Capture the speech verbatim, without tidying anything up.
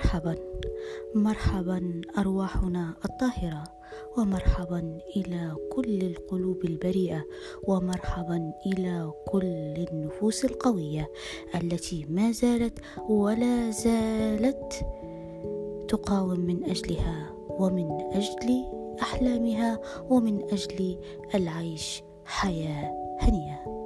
مرحبا مرحبا أرواحنا الطاهرة، ومرحبا إلى كل القلوب البريئة، ومرحبا إلى كل النفوس القوية التي ما زالت ولا زالت تقاوم من أجلها ومن أجل أحلامها ومن أجل العيش حياة هنية.